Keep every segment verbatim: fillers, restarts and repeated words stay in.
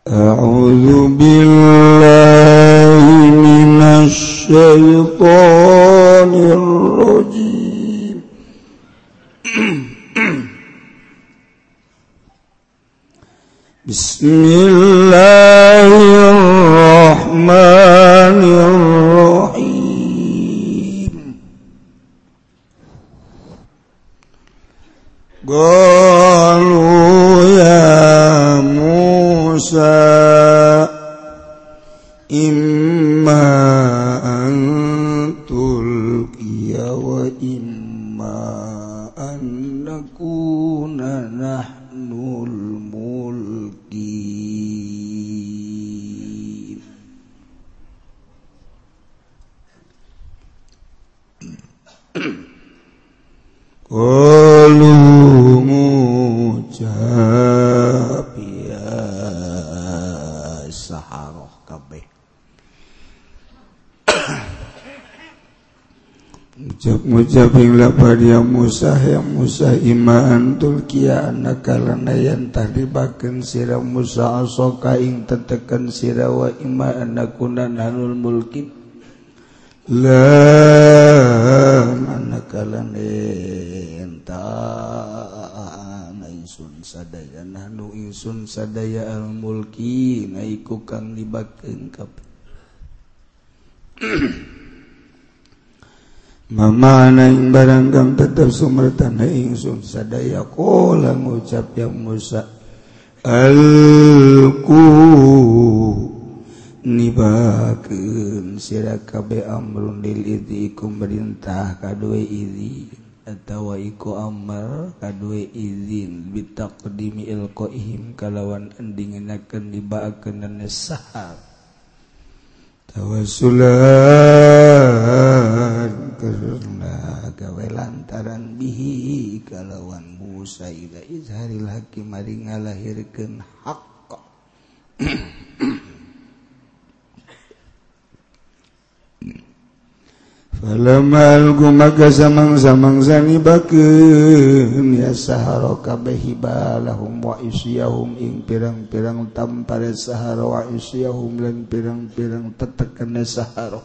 A'udzu billahi minasy syaithanir rajim. Bismillahirrahmanirrahim. Qalu ya Musa imma an tulqiya wa imma an nakuna nahnul mulkin. Qalu ngucap ya saharoh kabeh. Ngucap-ngucap ing lapar ya Musa ya Musa imaan tulkiya anakalana yang tadibakeun sira Musa asoka ing tetekan sira wa ima anakuna nanul mulkin la manakalana entah ingsun sadaya nahnu ingsun sadaya al mulki naiku kang libakeun kabeh. Mamana ing barang kang tetep sumertana ingsun sadaya qala ngucap ya Musa alku nibakeun sira kabeh amrun lil idzi iku merintah kaduwe idzi atawa iku amar kaduwe izin bitaqdimi ilqaihim kalawan endingenakeun dibaakeun sahar tawassulan karena gawe lantaran bihi kalawan Musa ila izharil haqqi mari ngalahirkeun haqq. Falamal gumaka samang-samang sani bakeun ya sahara kabeh hibalahum wa isyahum ing pirang-pirang tampare sahara wa isyahum lan pirang-pirang tetekane sahara.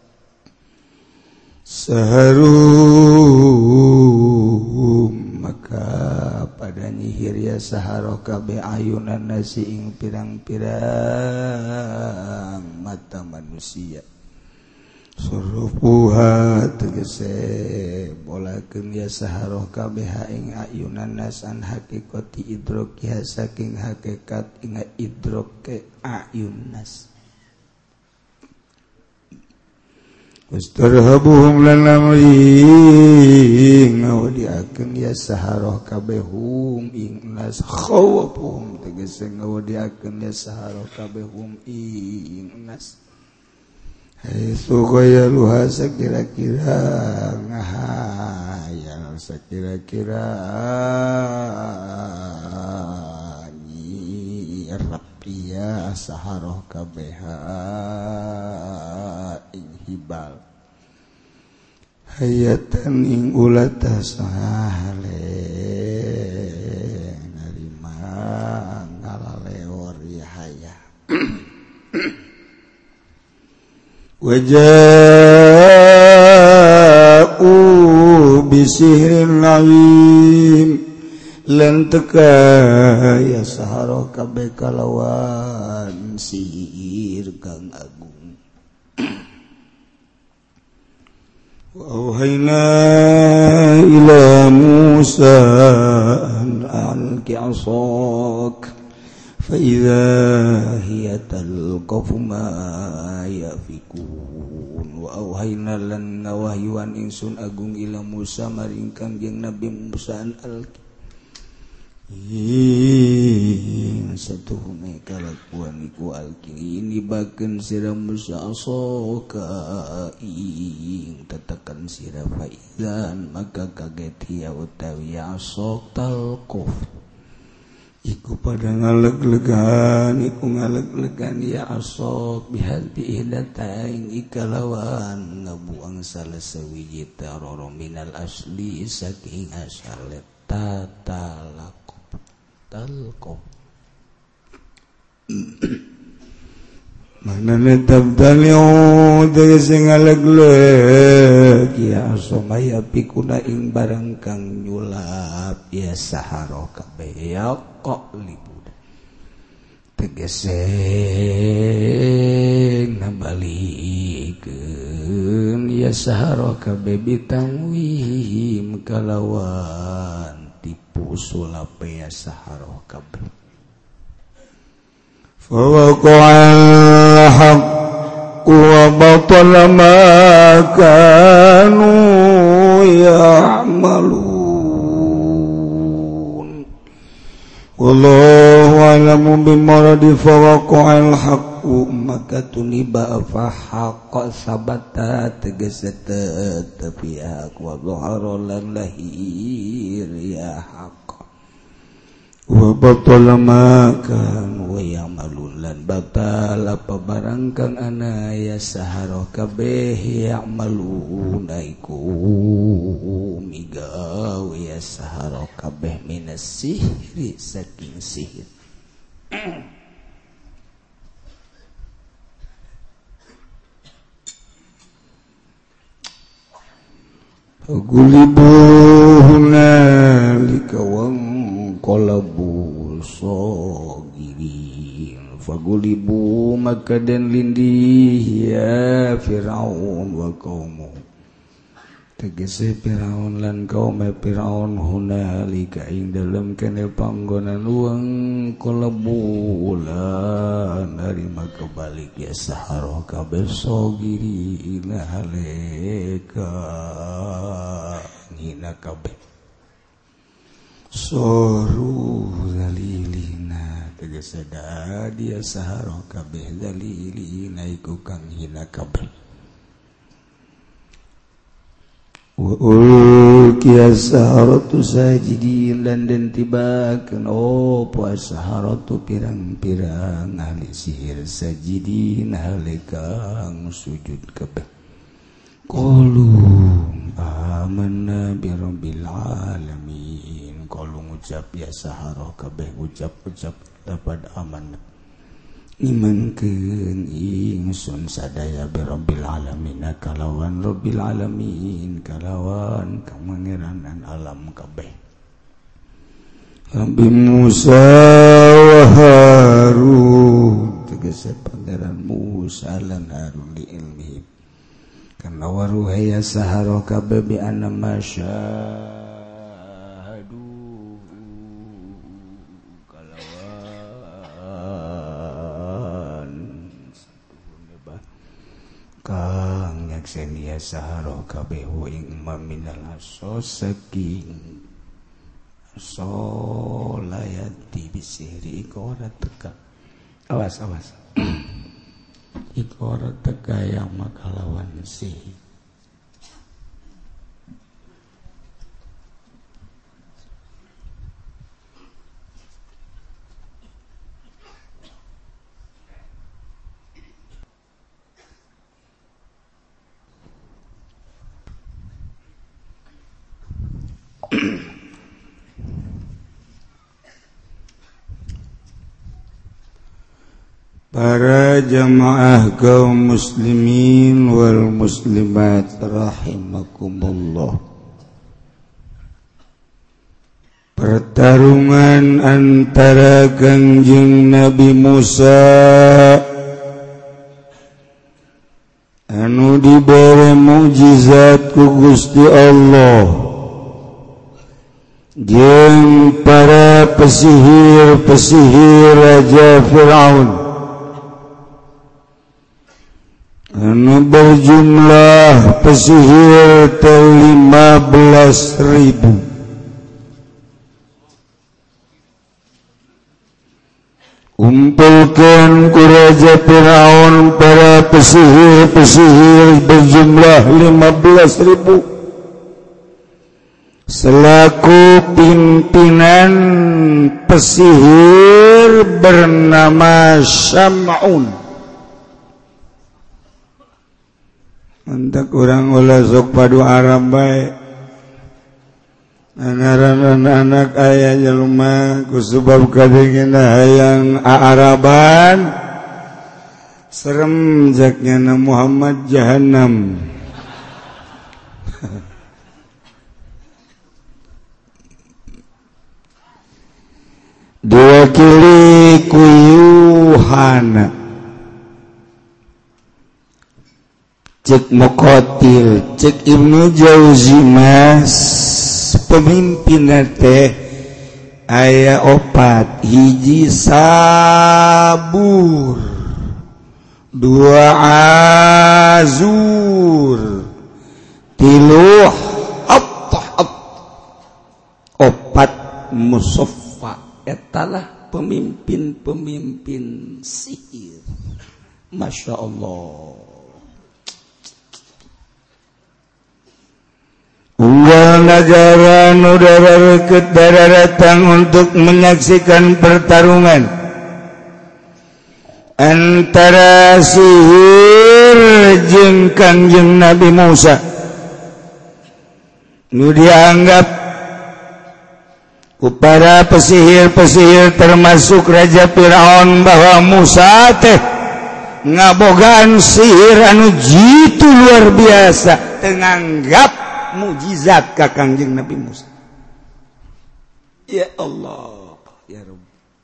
Saharum maka pada nyihir ya sahara kabeh ayunan nasi ing pirang-pirang mata manusia. Surupuha tegese bolakeun ya saharoh kabeh ing ayunan nasan hakikati idrokiha saking hakikat ing idroke ayun nas. Wastarhabuhum lan amri ngawdiakeun ya saharoh kabeh hum ing nas khawafuhum tegese ngawdiakeun ya saharoh kabeh hum ing nas. Hai sugaya luha sekira-kira ngahayal sekira-kira ni rapiya saharoh kabeha ing hibal hayatan ing ulata sahale narima ngalalewor yahaya. Waja'u bisihrin azim lan teka ya sahara kabeh kalawan sihir kang agung. Wa auhayna ila Musa an alqi asak فإذا هي تلقف ما يأفكون وأوحينا lan ngawahyuan ingsun agung ila Musa maring kangjeng Nabi Musa an alqi ing satuhune kalakuan iku alqi nibakeun sira Musa asoka ing tetekan sira faizan maka kaget ya utawi asok talquf iku pada ngaleg-legan iku ngaleg-legan ya asok bihadbi ihdatain ikalawan ngabuang salah sewiji taroro minal asli saking asalet tatalakop talkop tabtaliu tegese ngalegleg ya somaya pikuna ing barang kang nyulap ya sahara kabeh ya kok libur tegese ngabalikeun ya sahara kabeh bitangwim kalawan tipu sulap ya sahara kabeh fawaqa'al haqqu wa batala ma kanu ya'malun wallahu a'lamu bimaradi fawaqa'al haqqu maka tuniba fa haqqa sabata tegese tetapi hak wa dhahara lan lahir ya haqq wa batala ma kan wa ya'malun lan batal apa barang kang ana ya sahara kabeh ya'maluna iku migawe ya sahara kabeh minas sihri saking sihir gulibu hunalika wang qalabu sagirin fagulibu maka dan lindih ya Fir'aun wa qaumu tegese Fir'aun lan kaum Fir'aun hunalika ing dalem kene panggonan uang qalabu lan dari maka balik ya sahara kabeh sagirin haleka ngina kabeh soru zalilina tegese dia sahara kabeh zalilina iku kang hina kabeh wa ulqiya saharatu sajidin lan den tibakeun opo saharatu pirang-pirang ahli sihir sajidin ahli kang sujud kabeh qalu amanna bi rabbil alamin kalau ngucap ya sahara kabeh ucap-ucap dapat aman imankeun ingsun sadaya bi rabbil alamin kalawan rabbil alamin kalawan kang mangeranan alam kabeh Rabbi Musa wa Harun tegese pangeran Musa lan Harun li ilmi kana waruhaya sahara kabeh bi anna masya kang nyakseni ya sahara kabeh ing maminal aso saking solayati bisiri iku ora teka awas awas iku ora teka yang makalawan sihir para jamaah kaum muslimin wal muslimat rahimakumullah. Pertarungan antara Kangjeng Nabi Musa anu dibere mukjizat ku Gusti Allah jeung para pesihir-pesihir Raja Fir'aun anu berjumlah pesihir lima belas ribu. Kumpulkan ku Raja Fir'aun para pesihir-pesihir berjumlah lima belas ribu selaku pimpinan pesihir bernama Syam'un. Antak orang ulah sok padu Arab baik ngaran anak ayah jelema kusubab kadengina hayang aaraban serem jaknya na Muhammad Jahannam. Diwakili ku Yuhana cek Muqatil cek Ibnu Jauzi mas pemimpin teh aya opat hiji sabur dua azur tilu at opat musaffa etalah pemimpin-pemimpin sihir. Masya Allah. Unggal negara udara deket datang untuk menyaksikan pertarungan antara sihir jeung Kangjeng Nabi Musa. Nu dianggap ku para pesihir-pesihir termasuk Raja Firaun bahwa Musa teh ngabogaan sihir anu jitu luar biasa tenganggap mukjizat ka Kangjeng Nabi Musa. Ya Allah, ya Rabb.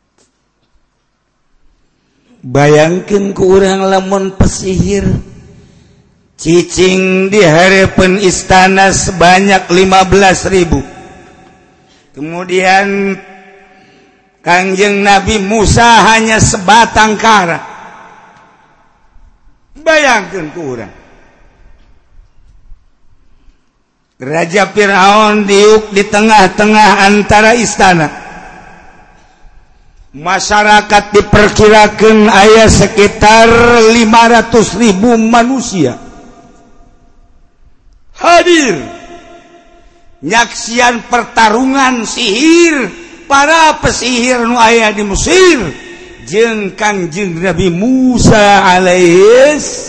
Bayangkeun ku urang lamun pesihir cicing di hareupeun istana sebanyak lima belas ribu. Kemudian Kangjeng Nabi Musa hanya sebatang kara. Bayangkan ku urang. Raja Firaun diuk di tengah-tengah antara istana. Masyarakat diperkirakan aya sekitar lima ratus ribu manusia hadir nyaksian pertarungan sihir para pesihir nu aya di Mesir jeung Kangjeng Nabi Musa alaihis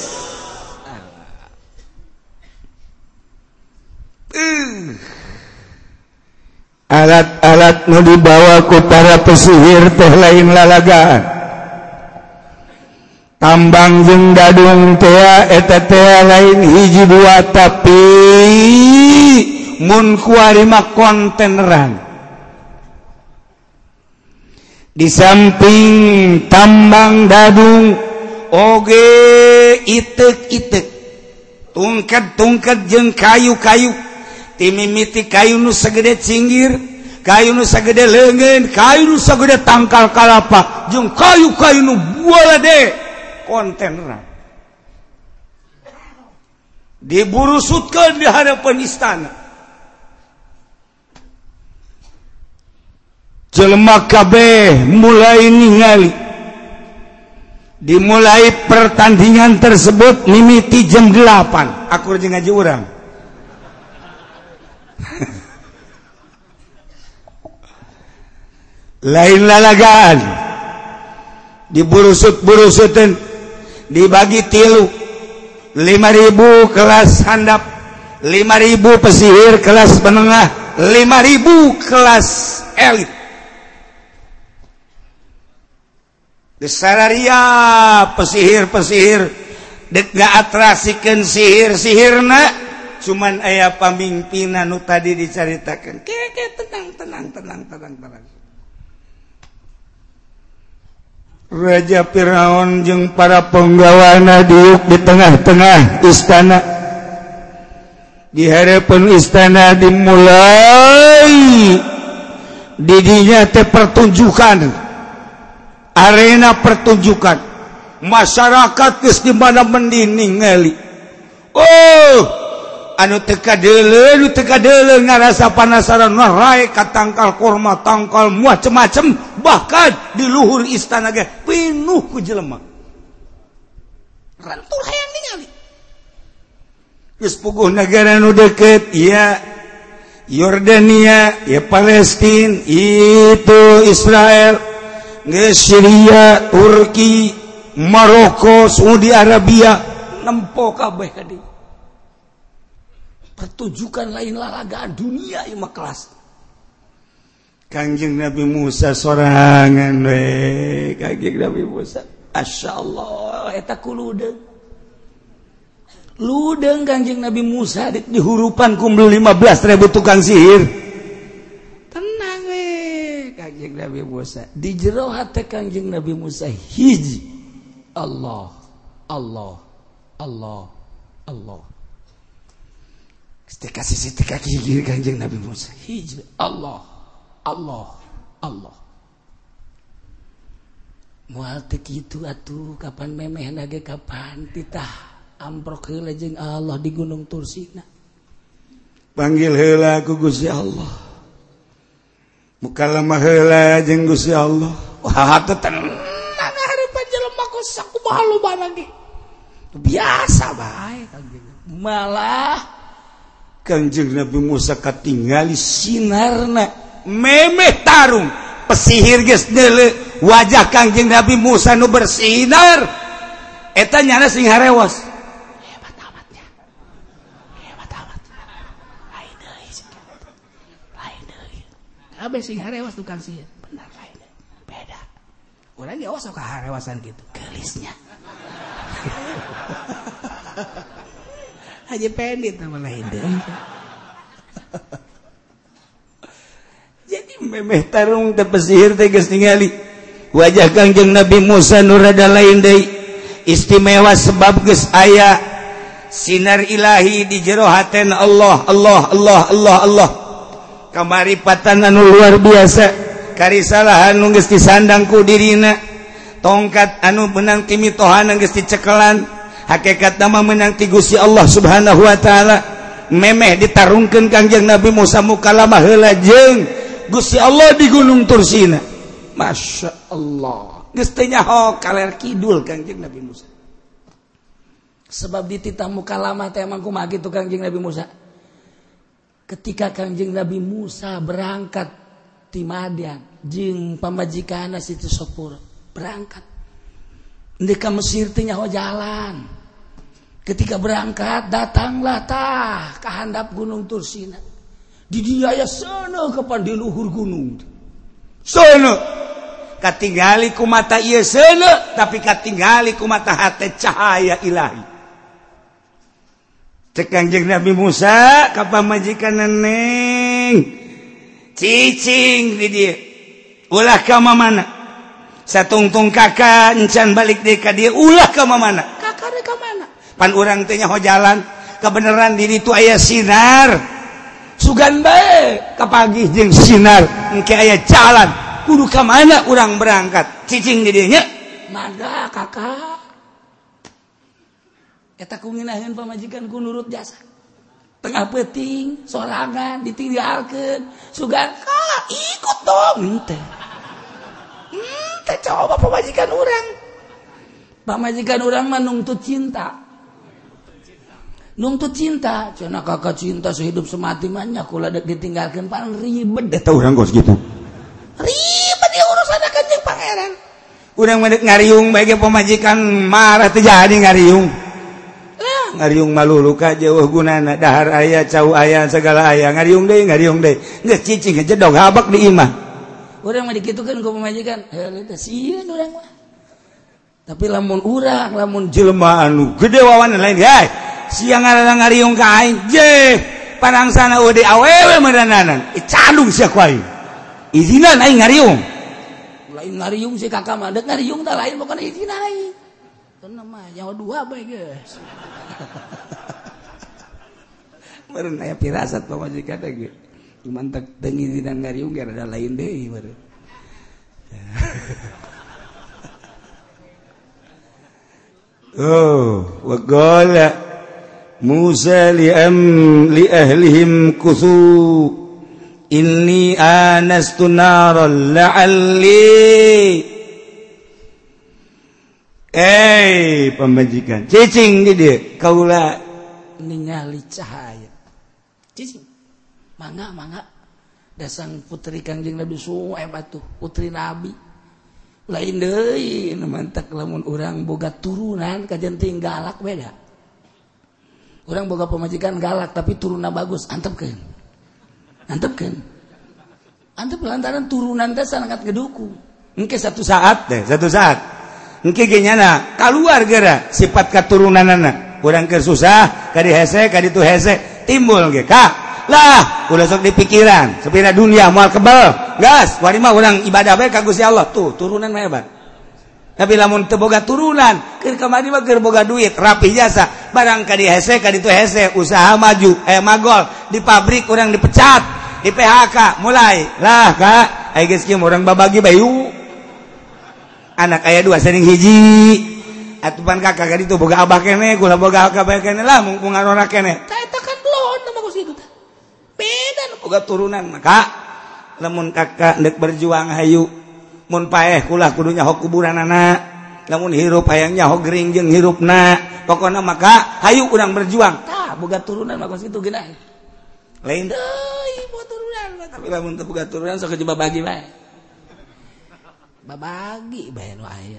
uh. Alat-alat nu dibawa ku para pesihir teh lain lalagaan. Tambang jeung dadung teh eta teh lain hiji dua tapi mun kuari mah konteneran. Di samping tambang dadung oge itek-itek tungkat-tungkat jeung kayu-kayu timimiti kayu nu sagede cinggir kayu nu sagede leungeun kayu nu sagede tangkal kalapa jeung kayu-kayu nu bualade konteneran diburusutkeun di hadapan istana. Jelema kabeh mulai ningali. Dimulai pertandingan tersebut mimiti jam delapan. Aku jeung ngaji urang. Lain lalagaan. Diburusut-burusuteun, dibagi tilu. lima ribu kelas handap, lima ribu pesihir kelas menengah, lima ribu kelas elit. Desararia pesihir-pesihir dek ngaatrasikeun sihir-sihirna cuman aya pamimpinna nu tadi dicaritakeun. Keke tenang tenang tenang tenang tenang. Raja Firaun jeung para penggawana diuk di tengah-tengah istana. Di hadapan istana dimulai didinya teh pertunjukan. Arena pertunjukan masyarakat geus di mana mending ngali. Oh, anu teu kadeuleu, anu teu kadeuleu ngarasa panasaran rae ka tangkal korma, tangkal macem-macem, bahkan di luhur istana ge penuh ku jelema. Rantul hayang ningali. Geus puguh negara nu deukeut, ya Yordania, ya Palestina, itu Israel. Syria, Turki, Maroko, Saudi Arabia nempo kabeh ka dieu. Pertunjukan lain lalagaan dunia ieu mah kelas. Kangjeng Nabi Musa sorangan we, Kangjeng Nabi Musa. Masya Allah eta ku ludeng ludeng Kangjeng Nabi Musa di, di hurupan kumpul lima belas ribu tukang sihir tenang we Kangjeng Nabi Musa di jero hate Kangjeng Nabi Musa hiji Allah Allah Allah Allah ketika sisi tika kiri Kangjeng Nabi Musa hiji Allah Allah Allah moal teu kitu atuh kapan memeh nage kapan titah amprok heula jeung Allah di Gunung Tursina panggil heula ku Gusti Allah mukalamah heula jeung Gusti Allah wah teu tenang hareupan jelema ku sakumaha lobana ge biasa bae Kangjeng malah Kangjeng Nabi Musa katingali sinarna memeh tarung pesihir geus deuleu wajah Kangjeng Nabi Musa nu bersinar eta nyana sing harewas hebat amatnya hebat amat lain deui lain deui kabeh sing harewas tukang sihir bener lain beda urang ge sok harewasan kitu geulisnya aja pendit sama lain deui jadi memeh tarung teh pesihir teh geus ningali wajah Kangjeng Nabi Musa nu rada lain deui istimewa sebab geus aya sinar ilahi di jero hatena Allah Allah Allah Allah Allah kamaripatan anu luar biasa karisalahan nu geus disandang ku dirina tongkat anu menang ti mitohan geus dicekelan hakikatna mah menang ti Gusti Allah Subhanahu wa taala memeh ditarungkeun Kangjeng Nabi Musa mukalamah heula jeung Gusti Allah di Gunung Tursina Masya Allah geus teu nyaho kaler kidul Kangjeng Nabi Musa sebab di titah mukalamah teh emang kumaha kitu Kangjeng Nabi Musa ketika Kangjeng Nabi Musa berangkat ti Madian jeung pamajikanna Siti Sopur berangkat endeu ka Mesir teh nyaho jalan ketika berangkat datanglah tah ka handap Gunung Tursina di dia aya sana kapan di luhur gunung sana katinggali ku mata ieu sana tapi katinggali ku mata hate cahaya ilahi cek Kangjeng Nabi Musa ka pamajikanna Neng cicing di dieu ulah ka mamana satungtung kakak encan balik deui ka dieu ulah ka mamana kakak deui ka mana pan urang teh nyaho jalan kebenaran di ditu aya sinar sugan bae kapagih jeung sinar engke aya jalan kudu ka mana urang berangkat cicing di dieu nya mangga kakak eta ku ngeunaheun pamajikan ku nurut jasa tengah peuting sorangan ditinggalkeun sugan ka ikut dong henteu henteu coba pamajikan urang pamajikan urang mah nungtut cinta nuntut cinta cenah kakak cinta sehidup semati mah nya kula dek ditinggalkeun pan ribet deh tah urang gos gitu ribet ya urusan Kanjeng Pangeran urang mah dek ngariung bae ge pamajikan marah teh jadi ngariung lah ngariung malulu ka jeuh gunana dahar aya cau aya segala aya ngariung deui ngariung deui geus cicing jedog habak di imah urang mah dikitukeun ku pamajikan heuh teh sieun urang mah tapi lamun urang lamun jelema anu gede wawanan lain hae siang ngaranna ngariung ka aing je panangsana udah awewe meurananan icandung sia ku aing izinan aing ngariung lain ngariung si kakak mah deuk ngariung tah lain bukan izin aing teu mah nyawa dua bae geus meureun aya pirasat pamajikan teh ge cuman teu ngizinan ngariung ge rada lain deui meureun oh wa qala Musa li'am li ahlihim kuthu inni anastu naran la'alli eh pamajikan cicing di dieu kaula ningali cahaya cicing mangga mangga dasang putri Kangjeng Nabi Suhaib atuh putri Nabi lain deui mantak lamun urang boga turunan kajen ting galak beda urang boga pamajikan galak tapi turunna bagus antepkeun antepkeun antep lantaran turunan teh sangat ngedukung engke satu saat teh satu saat engke ge nyana kaluar geura sifat katurunanana urang keur susah ka di hese ka ditu hese timbul ge ka lah udah sok di pikiran sepina dunia moal kebal gas wari mah urang ibadah bae ka Gusti Allah tuh turunan mah hebat. Tapi lamun teu boga turunan keur kamari mah keur boga duit rapi jasa barang ka di hese ka ditu hese usaha maju aya magol di pabrik urang dipecat di P H K mulai lah Kak aya geus kieu urang babagi bayu anak aya dua sering hiji atupan kakak ka ditu boga abah keneh kula boga abah keneh lah mung ngarona keneh tah eta kan blon mah ku situ teh beda nu boga turunan maka lamun kakak ndek berjuang hayu mun paeh kulah kudu nyaho kuburanana lamun hirup hayang nyaho gering jeung hirupna pokona maka hayu urang berjuang tah boga turunan mah ku situ geuna lain deui boga turunan tapi lamun teu boga turunan sok coba bagi bae babagi bae nu aya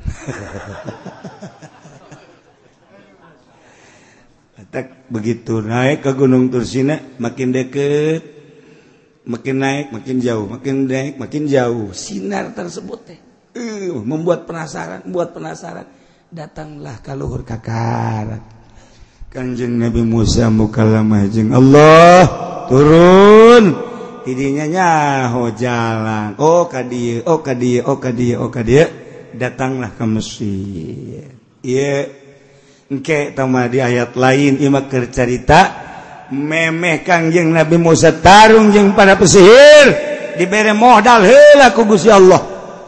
tak begitu naik ke Gunung Tursina makin deket makin naik makin jauh makin naik makin jauh sinar tersebut teh uh, membuat penasaran membuat penasaran datanglah ka luhur kakarat Kanjeng Nabi Musa mukalamah jeung Allah turun tidinya nyaho jalan oh ka dieu oh ka dieu oh ka dieu oh ka dieu datanglah ke Mesir ieu engke tama di ayat lain ieu mah keur carita memeh Kangjeng Nabi Musa tarung jeung para pesihir dibere modal heula ku Gusti Allah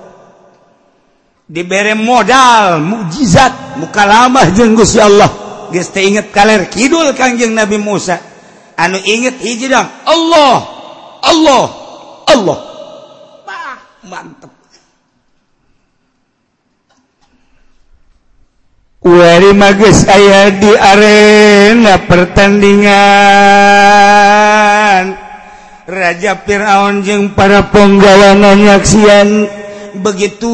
dibere modal mukjizat mukalamah jeung Gusti Allah geus teu inget kaler kidul Kangjeng Nabi Musa anu inget hiji dong Allah Allah Allah bah mantep wari magis aya di arena pertandingan Raja Firaun jeung para penggawana nyaksian begitu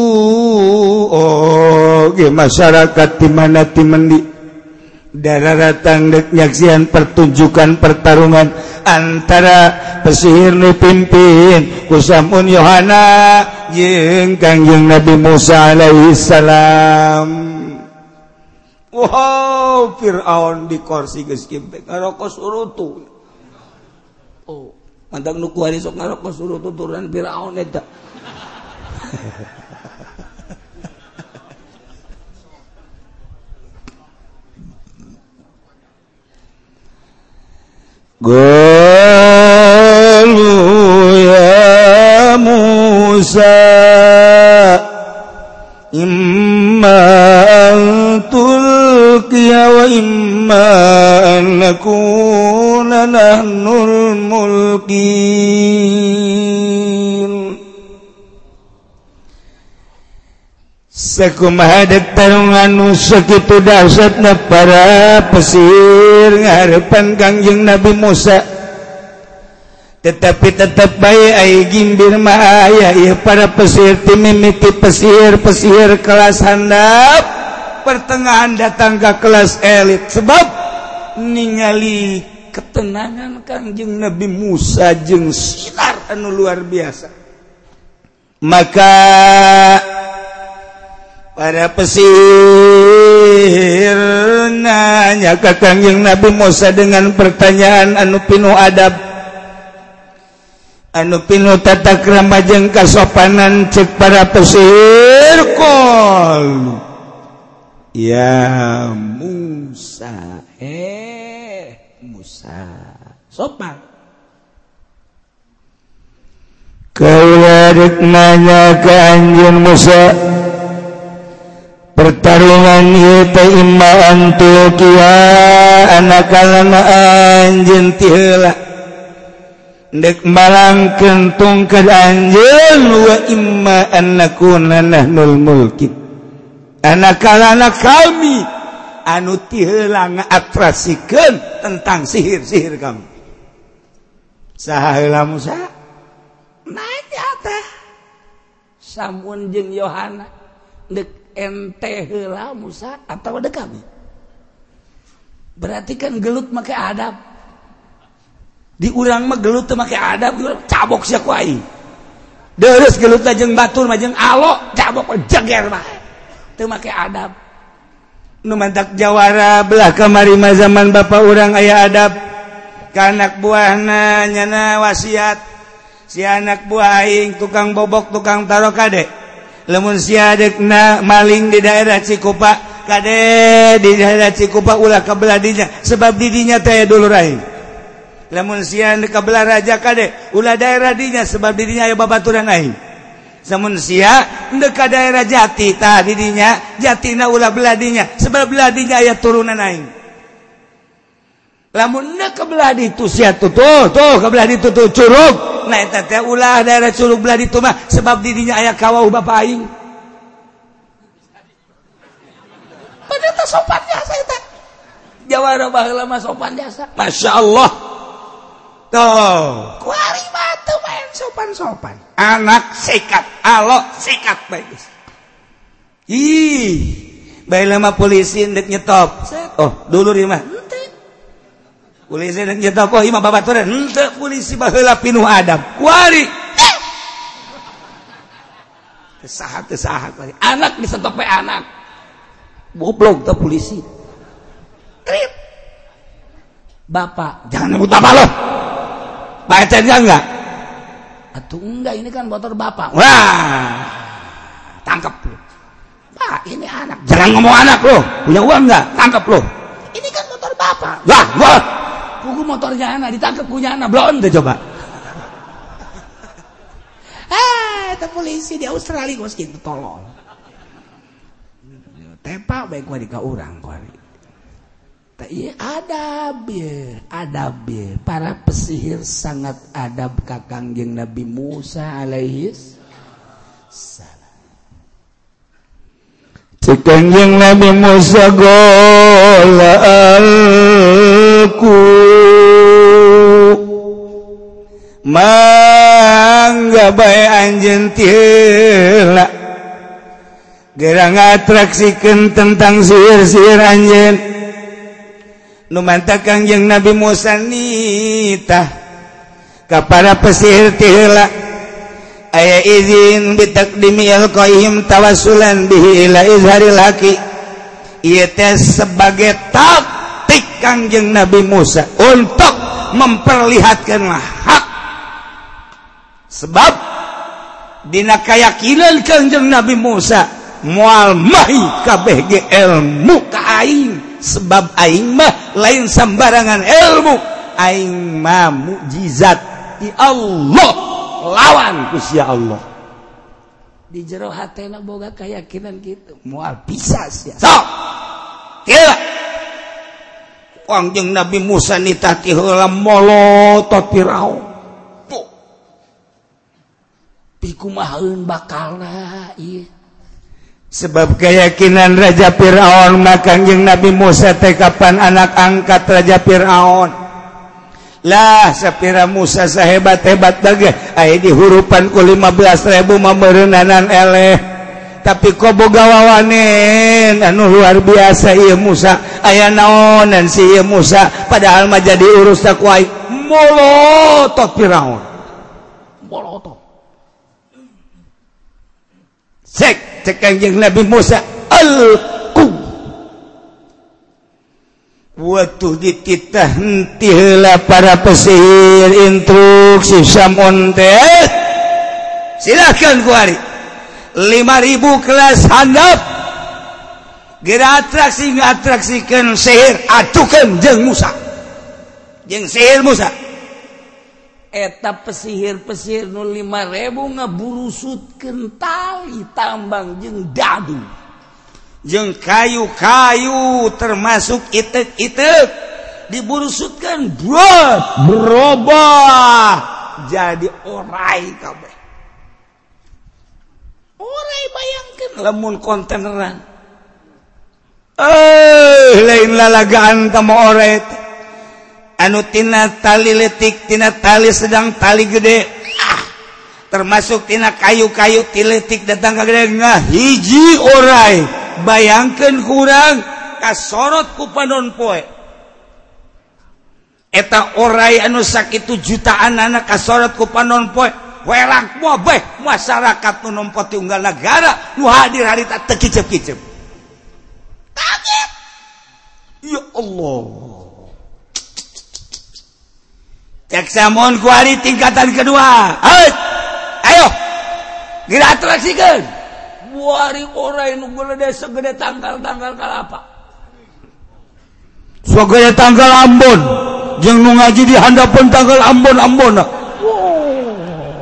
oh ge masyarakat di mana ti mendi dararatang dek nyaksian pertunjukan pertarungan antara pesihir nu pimpin ku Samun Yohana jeung Kangjeng Nabi Musa alaihi salam. Wow, Fir'aun di kursi geus kieu ngarokok surutu. Oh, mantap nu kuari sok ngarokok surutu turunan Fir'aun eta. Qalu ya Musa imma tulqiya wa imma an nakuna nahnul mulkin sakumaha dek tarungan nu sakitu dahsyatna para pesir ngarepan Kangjeng Nabi Musa tetapi tetap bae ai gimbir mah aya ieu para pesir ti mimiti pesir-pesir kelas handap pertengahan datang ke kelas elit sebab ningali ketenangan Kangjeng Nabi Musa jeung sinar anu luar biasa maka para pesir nanya ke Kangjeng Nabi Musa dengan pertanyaan anu pinuh adab anu pinuh tata krama jeung kasopanan cek para pesir qol ya Musa eh Musa sopan kaula rek nanya ka anjeun Musa pertarungan ieu teh imma antu kia anakalana anjeun ti heula dek malangkeun tungkad anjeun wa imma annakuna nahnul mulkin anakalana kami anu ti heula ngaatrasikeun tentang sihir-sihir kami saha heula Musa nanya teh Samun jeung Yohana dek ente heula Musa atau dek kami berarti kan gelut make adab di urang mah gelut teu make adab cabok sia ku aing deres gelut jeung batur mah jeung alok cabok jeger bae teu make adab. Nu mantak jawara belah kamari mah zaman bapa urang aya adab ka anak buahna nyana wasiat si anak buah aing tukang bobok tukang taro kade lamun sia dekna maling di daerah Cikupa kade di daerah Cikupa ulah kabelah dinya sebab didinya teh dulur aing lamun sia kabelah raja kade ulah daerah dinya sebab didinya aya babaturan aing samun sia endeu ka daerah Jati tah didinya Jatina ulah belah dinya sebab belah dinya aya turunan aing lamun endeu ka belah ditu sia tuh tuh tuh ka belah ditu tuh curug nah eta teh ulah daerah curug belah ditu mah sebab didinya aya kawau bapa aing padahal teh sopan jasa eta jawara baheula mah sopan jasa masyaallah tuh kuari mah teu main sopan-sopan anak sikat alok sikat bagus ih bae lama polisi ndek nyetop oh dulur ieu mah henteu polisi ndek nyetop oh ieu mah babaturan henteu polisi baheula pinuh adab kuari teu saha teu saha anak disetop we anak goblok teh polisi trip bapak jangan nyebut bapak lo baca dia enggak atuh enggak ini kan motor bapak wah tangkap lo pak ini anak jangan ngomong anak lo punya uang enggak tangkap lo ini kan motor bapak wah wah kuku motornya anak ditangkap punya anak belum deh coba ah itu polisi di Australia gue segitu tolol tepak baik gue di ka urang gue iya adab ya, adab ya. Para pesihir sangat adab ka Kangjeng Nabi Musa alaihis salam. Cek Kangjeng Nabi Musa golaalku mangga bae anjeun tila gerang atraksikeun tentang sihir-sihir anjeun nu mantap Kangjeng Nabi Musa nitah ka para pesihir tihela aya izin bitaqdimi alqaim tawassulan bihi ila izharil haqi ieu teh sebagai taktik Kangjeng Nabi Musa untuk memperlihatkan hak sebab dina keyakinan Kangjeng Nabi Musa moal mahi kabeh ge ilmu ka aing sebab aing mah lain sembarangan ilmu aing mah mukjizat di Allah lawan ku sia Allah di jero hatena boga keyakinan gitu moal bisa sia sok kira Kangjeng Nabi Musa nitah ti heula molotot Firaun tuh pikumaheun bakalna ieu sebab keyakinan Raja Fir'aun maka Kangjeng Nabi Musa teh kapan anak angkat Raja Fir'aun lah sapira Musa sahebat-hebat dage aya di hurupan ku lima belas ribu mameureunnan eleh tapi kok boga wawanen anu luar biasa ieu Musa aya naonan si ieu Musa padahal mah jadi urus ku aing molotot Fir'aun molotot cek cek Kangjeng Nabi Musa alqu waktu dititah henti heula para pesihir instruksi samun teh silakan kuari lima ribu kelas handap geura atraksi ngatraksikeun sihir acukeun jeung Musa jeung sihir Musa eta pesihir-pesihir nu lima ribu ngaburusutkeun tali tambang jeung dadu jeung kayu-kayu termasuk itek-itek diburusutkeun buat berubah jadi orai kabeh orai bayangkeun lamun kontaineran eh lain lalagaan teh mah orai teh anu tina tali letik tina tali sedang tali gede ah, termasuk tina kayu-kayu tiletik datang ka gede ngah hiji orai bayangkeun kurang kasorot ku panon poe eta orai anu sakitu jutaan anak kasorot ku panon poe welang moeh masyarakat nu nompo unggal negara nu hadir harita teu kicep-kicep Ya Allah. Cek samun kuari tingkatan kedua. Ayo, ayo, geratrasikan. Kuari orang yang gede segede tanggal-tanggal kalapa. Segede tanggal Ambon, jeung nu ngaji di handapun tanggal Ambon-Ambon. Wow.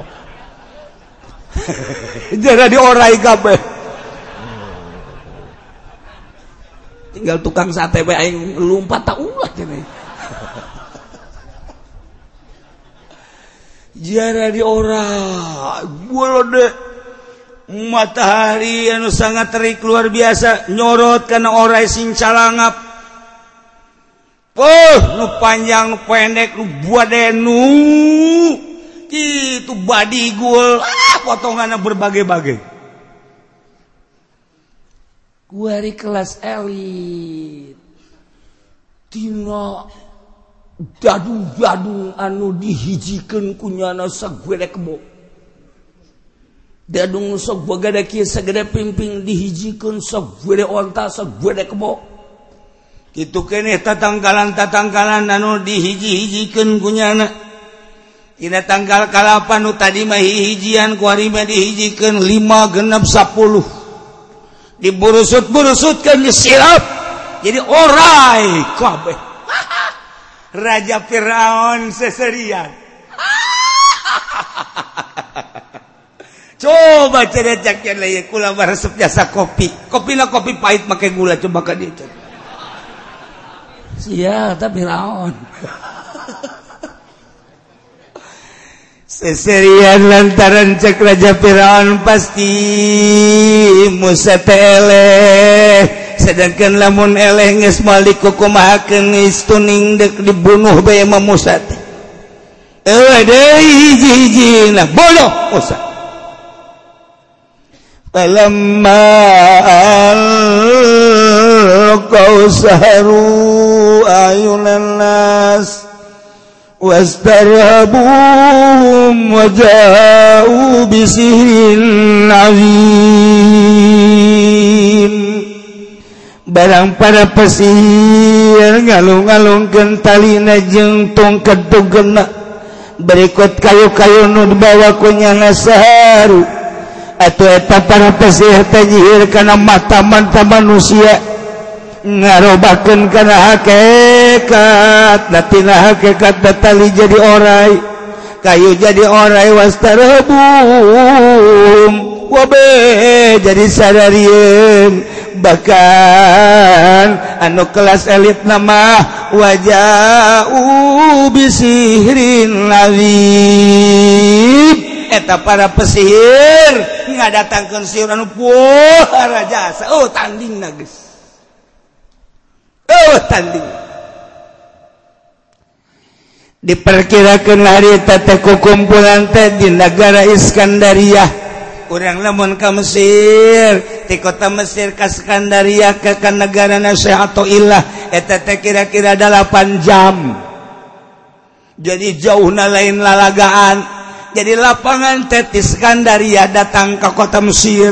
Jadi orai kabeh. Tinggal tukang sate bae aing lumpat tak ulah cenah. Jara di ora golode matahari anu sangat terik luar biasa nyorot kana orai sing calangap. Oh, nu panjang nu pendek nu buadenu kitu badigul ah potonganna berbagai-bagai. Kuari kelas elit tina dadung-dadung anu dihijikeun ku nyana sagede kebo. Dadung sok bagada kieu sagede pimping dihijikeun sagede onta sagede kebo. Kitu keneh tatangkalan-tatangkalan anu dihiji-hijikeun ku nyana. Dina tanggal kalapan nu tadi mah hijian ku ari mah dihijikeun lima genep sepuluh. Diburusut-burusutkeun disirap jadi orai kabeh. Raja Firaun seserian. Coba cedecak leuy kula resep jasa kopi. Kopina kopi pahit make gula coba ka dieu. Sia ta Firaun. Seserian lantaran cek Raja Firaun pasti Musa eleh. Sedangkan lamun eleh geus malik kumahakeun geus tuning dek dibunuh bae Imam Musa teh. Eueuh deui hiji-hijina bodoh Musa. Falamma al-qausaru ayunan nas wastarhabuhum waja'u bisihrin azim. Barang para pesihir ngalung-ngalungkeun talina jeung tongkat tugena berikut kayu-kayu nu dibawa ku nyana saharu atuh eta para pesihir tajihir kana mata-mata manusia ngarobakeun kana hakikat datina hakikat tali jadi orai kayu jadi orai wastarabum wabe jadi sadarieun bahkan anu kelas elit nama waja'u bisihrin lazim eta para pesihir ngadatangkeun sihir anu puara jasa. Oh tandingna geus oh tanding diperkirakeun hari eta teh kukumpulan teh di negara Iskandaria. Urang lamun ka Mesir, ti kota Mesir ka Iskandaria ke ka negara Syekh Athaillah eta teh kira-kira delapan jam. Jadi jauhna lain lalagaan. Jadi lapangan teh di Iskandaria datang ke kota Mesir.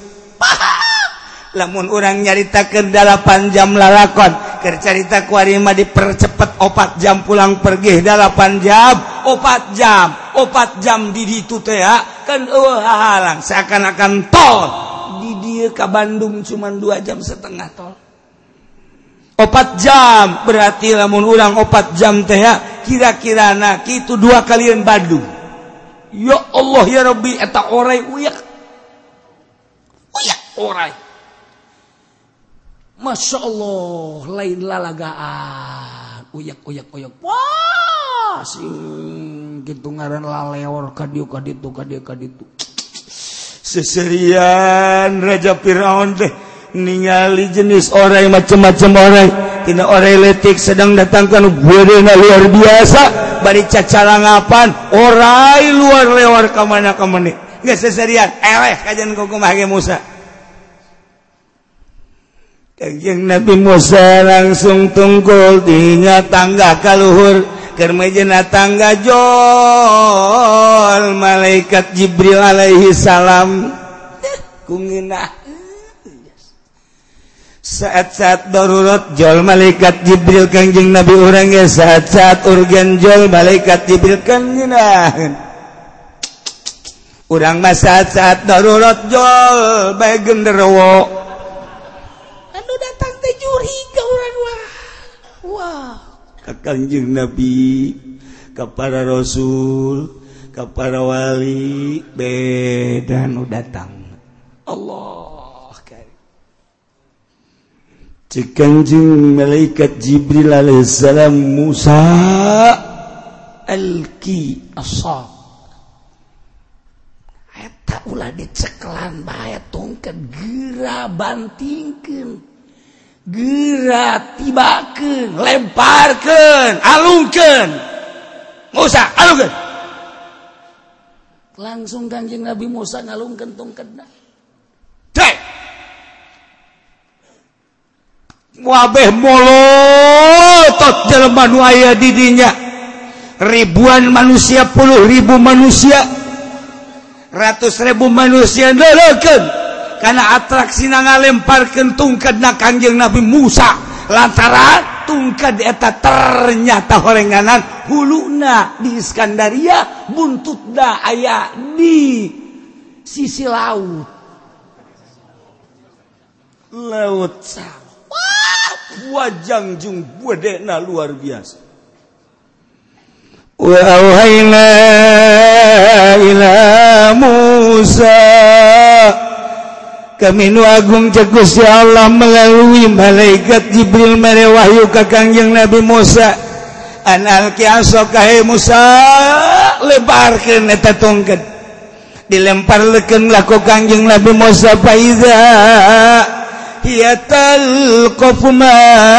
Lamun urang nyaritakeun delapan jam lalakon, keur carita ku ari mah dipercepet opat jam pulang pergi delapan jam, opat jam, opat jam di ditu teh kan eueuh hahalang seakan-akan tol. Di dieu ka Bandung cuma dua jam setengah tol. Opat jam berarti lamun urang opat jam teh kira-kirana kitu dua kalian Bandung. Ya Allah ya Rabbi eta orai uyak. Uyak orai. Masya Allah lain lalagaan uyak uyak uyak wah sing gitu ngaran laleor kadieu kaditu kadieu kaditu seserian Raja Firaun teh ningali jenis orai macam-macam orai tina orai letik sedang datangkan gedena luar biasa bari cacalangapan orai luar lewar ka mana ka mane geus seserian eleh kajian kumaha ge Musa. Kanjeng Nabi Musa langsung tungkul dinya tangga kaluhur keur mejena tangga jol malaikat Jibril alaihi salam kunginah saat-saat darurat jol malaikat Jibril Kangjeng Nabi urang ge saat-saat urgen jol malaikat Jibril kanjeunah urang mah saat-saat darurat jol bae genderuwo anu datang teh juri ka urang wah wah ka Kangjeng Nabi ka para rasul ka para wali beda nu datang Allah Kangjeng malaikat Jibril alaihissalam Musa alki asab eta ulah diceklan bae tongkat geura bantingkeun geura tibakeun lemparkeun alungkeun Musa alungkeun langsung Kanjeng Nabi Musa ngalungkeun tongkatna wabeh molotot jelema nu aya di dinya ribuan manusia puluh ribu manusia ratus ribu manusia ndeleukeun kana atraksina ngalemparkeun tungkadna Kanjeng Nabi Musa lantaran tungkad eta ternyata horenganan huluna di Iskandaria buntutna aya di sisi laut laut Sam wajang jung budena luar biasa wa auhayna ila Musa kami nu agung cek Gusti Allah melalui malaikat Jibril mere wahyu ka Kangjeng Nabi Musa an alqi asaka he Musa lebarkeun eta tongkat dilemparkeun lah ku Kangjeng Nabi Musa faiza hiya talqafu ma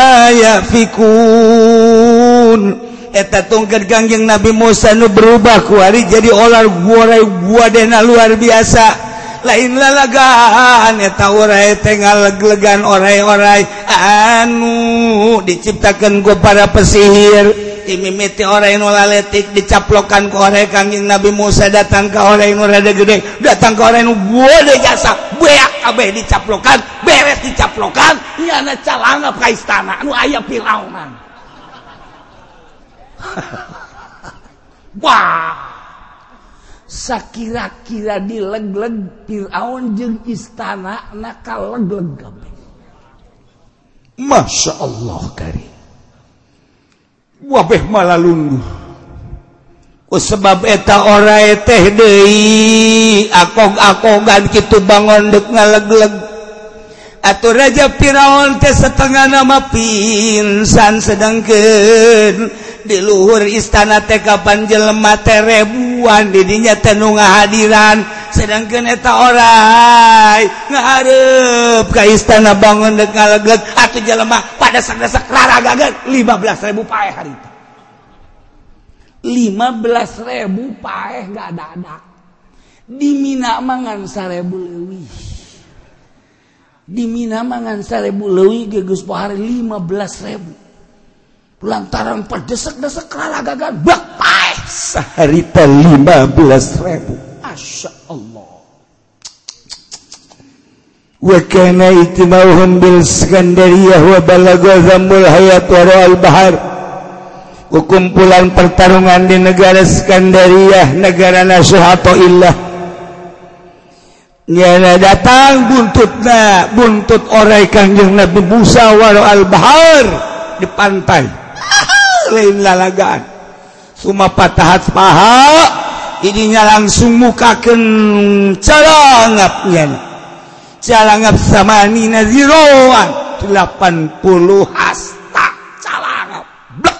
yafikun eta tongkat Kangjeng Nabi Musa nu berubah ku ari jadi olar guarai guadena luar biasa lain lalagaan eta orai teh ngaleg-legan orai-orai anu diciptakeun ku para pesihir dimimiti orai nu laletik dicaplokan ku orai Kangjeng Nabi Musa datang ka orai nu rada gede datang ka orai nu gede jasa beak kabeh dicaplokan beres dicaplokan nyana calangap ka istana nu aya Firaunan wah sakira-kira dileg-leg Firaun jeung istana na kaleg-leg kabeh Masya Allah karim wabeh malalunduh ku sebab eta orai teh deui akog-akogan kitu bangun dek ngaleg-leg atuh Raja Firaun teh setengah nama pinsan sedengkeun di luhur istana teh kapan jelema teh ribuan di dinya teh nu ngahadiran sedangkeun eta orai ngahareup ka istana bangun dek ngaleg-leg atuh jelema pada sageusek raragageun lima belas ribu paeh harita lima belas ribu paeh gak dadak di Mina mangan seribu leuwih di Mina mangan seribu leuwih ge geus pohari lima belas ribu lantaran pedesek-desek raragagan bak paeh saharita lima belas ribu Masya Allah wa kana itimauhum bil Iskandariyah wa balagha zamul hayat wa ra'al bahar kumpulan pertarungan di negara Iskandariyah negara nasuhato illah nyana datang buntutna buntut orai Kangjeng Nabi Musa wa ra'al bahar di pantai lain lalagaan suma patahat paha idinya langsung mukakeun calangapnya calangap samani naziroan delapan puluh hasta calangap blak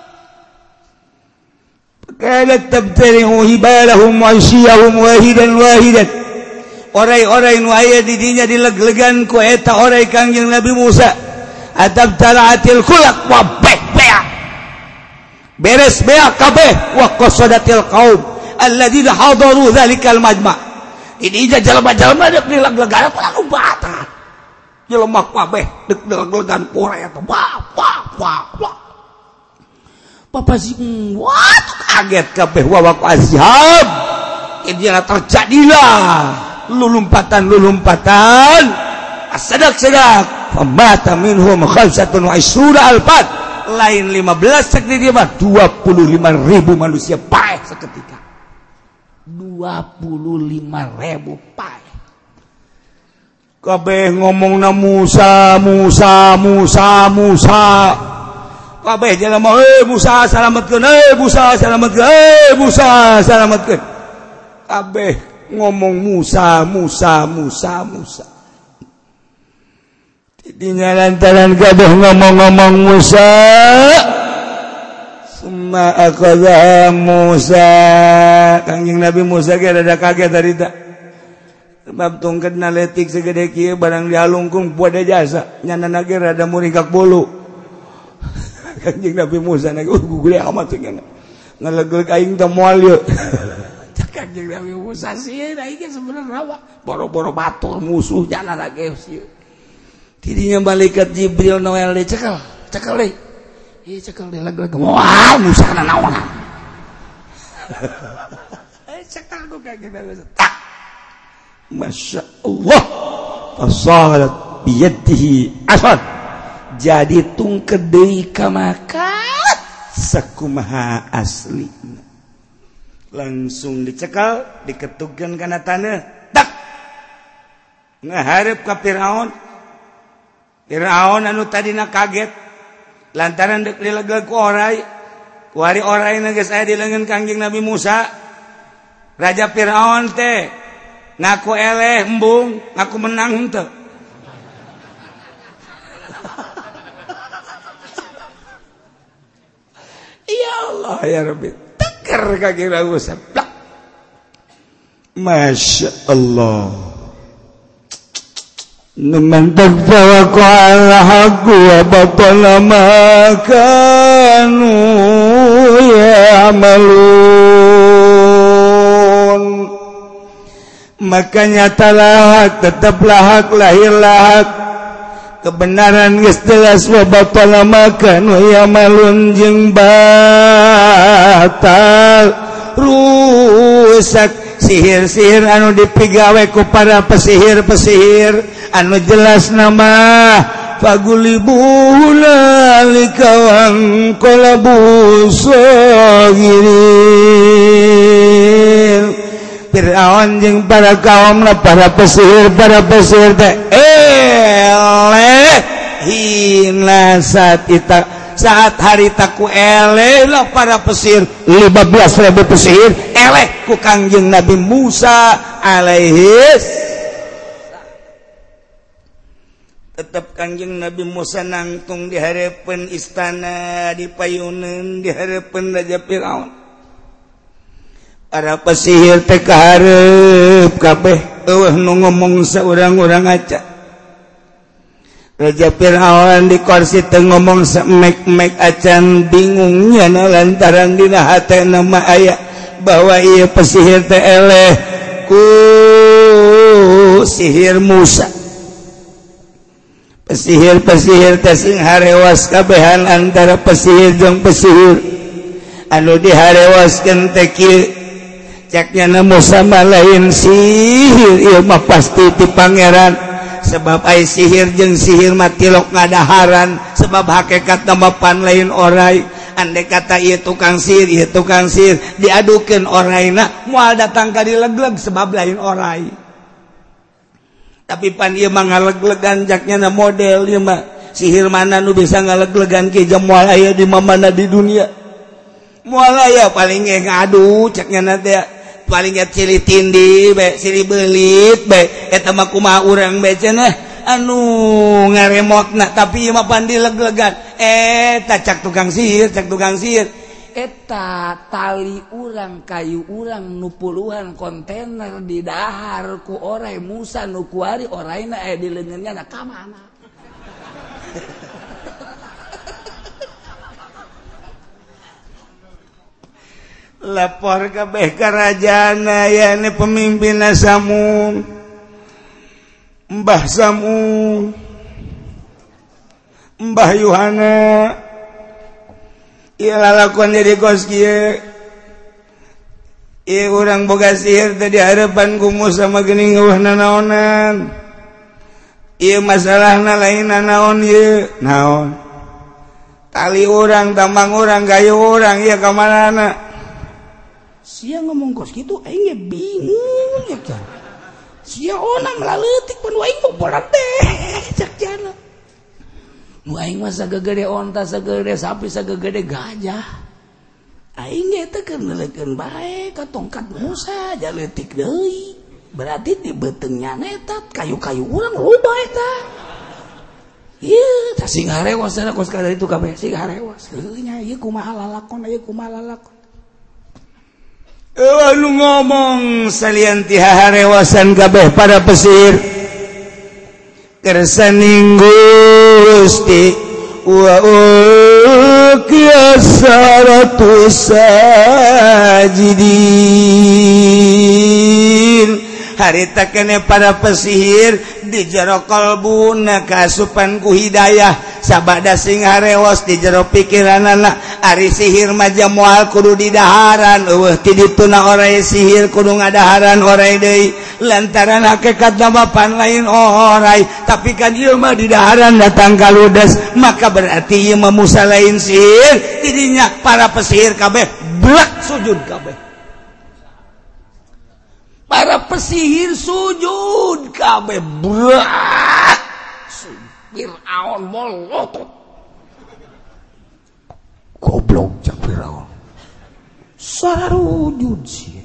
kadat tabtarihu hibalahum wa isyahum wahidan wahidan orai-orai nu aya di dinya dileg-legan ku eta orai Kangjeng Nabi Musa adab talaatil khulaq wa beak beres beak kabeh wa qasadatil qaum alladzina hadaru dzalikal majma' ini aja jalma-jalma dek dileg-legan lalu bata jelema kabeh dek dileg-legan pore eta wah wah wah wah papasi wah kaget kabeh wawak azhab ini terjadilah lulumpatan-lulumpatan sadak-sadak famata minhum khamsatun wa isruna alfan lain lima belas cek di dia mah dua puluh lima ribu manusia paeh seketika dua puluh lima ribu paeh kabeh ngomongna Musa Musa Musa Musa kabeh jelema eh Musa salametkeun eh Musa salametkeun eh Musa salametkeun kabeh ngomong Musa Musa Musa Musa dinya lantaran kabeh ngomong-ngomong Musa summa aqadha Musa Kangjeng Nabi Musa ge rada kaget tadi tak sebab tungketna leutik segede kieu barang dialungkung poe jasa nyanana ge rada muringkak bulu Kangjeng Nabi Musa na gugule amat cenah ngalegleg aing teh moal yeuh Kangjeng Nabi Musa sieun aing ge sebenarnya apa boro-boro batur musuh janana ge sieun tidinya malaikat Jibril Noel dicekel cekel deui ieu cekel deui leg-leg wah Musa na naon eh cekel ku Kangjeng Nabi tak Masya Allah fasalat biyadihi asad jadi tungked deui ka makat sakumaha asli langsung dicekal diketukeun kana taneuh tak ngahareup ka Firaun Firaun anu tadina kaget lantaran deuk dilegeg ku oray ku ari orayna geus aya di leungeun Kangjeng Nabi Musa Raja Firaun teh ngaku eleh embung ngaku menang henteu ya Allah ya Rabbi teker Kangjeng Nabi Musa Masya Allah man tawakka ala haqqi wa batala ma kanu ya'malun makanya talak tetaplah hak lahirlah hak kebenaran geus jelas wa batala ma kanu ya'malun jeung batal rusak sihir-sihir anu dipigawe ku para pesihir-pesihir anu jelas nama fagulibuhula likawan qalabu sagirin Firaun jeung para kaumna para pesihir para pesihir teh eleh hina saat ita saat harita ku eleh lah para pesihir lima belas ribu pesihir eleh ku Kangjeng Nabi Musa alaihis tetap Kangjeng Nabi Musa nangtung di hareupeun istana di payuneun di hareupeun Raja Firaun para pesihir teh kahareup kabeh eueuh nu ngomong saurang-urang aca Raja Firaun di kursi teh ngomong samek-mek acan bingungnya lantaran dina hatena mah aya bahwa ieu pesihir teh eleh ku sihir Musa pesihir-pesihir teh sing harewas kabehan antara pesihir jeung pesihir anu diharewaskeun teh kieu ceknya Musa mah lain sihir ieu mah pasti ti pangeran sebab ai sihir jeung sihir mah tilok ngadaharan sebab hakikat nama pan lain oray andai kata ieu tukang sihir ieu tukang sihir diadukeun orayna moal datang ka dilegleg sebab lain oray tapi pan ieu mah ngaleg-legan jaknya model ieu mah sihir mana nu bisa ngaleg-legan ke jam moal aya di mana di dunia moal aya paling ge ngadu ceknya na teh paling ge cili tindi be cili beulit be eta mah kumaha urang be cenah anu ngaremotna tapi ieu mah pan dileg-legan eta cak tukang sihir cak tukang sihir eta tali urang kayu urang nu puluhan kontainer di dahar ku oray Musa nu kuari orayna aya di leungeunnya na ka mana lapor kabeh ka rajana yane pemimpinna Samud Mbah Samud Mbah Yuhana ieu lalakuan jadi kos kieu ieu urang boga sihir teh di hareupan ku Musa mah geuning eueuh nanaonan Ieu masalahna lainna naon ieu? Naon? Tali orang, tambang orang, gayo orang, ieu ka manana? Sia ngomong kos kitu aing ge bingung ya kan. Sia onang laleutik pan aing bobolan teh cak jana. Nu aing mah sagegede onta, sagegede sapi, sagegede gajah. Aing ge teh keur neuleukeun bae ka tongkat Musa jaleutik deui. Berarti di betengnya netat kayu-kayu urang loba eta. Ieu tah sing harewas cenah kos kada itu kabeh sing harewas. Heuh nya ieu kumaha lalakon ieu kumaha lalakon. Eueuh nu ngomong salian ti harewasan kabeh para pesir. Kersaning Gusti wa ulqiyasaratu sajidin. Harita kene para pesihir di jero kalbuna kasupan ku hidayah sabada sing harewas di jero pikiranana ari sihir maja moal kudu di daharan eueuh ti dituna oray sihir kudu ngadaharan oray deui lantaran hakikatna mapan lain oray tapi kan ieu mah di daharan datang kaludes maka berarti ieu mah Musa lain sihir tidinya para pesihir kabeh blak sujud kabeh. Para pesihir sujud kabeh berat. Fir'aun molotot. Goblok cak Fir'aun. Sarujud sih.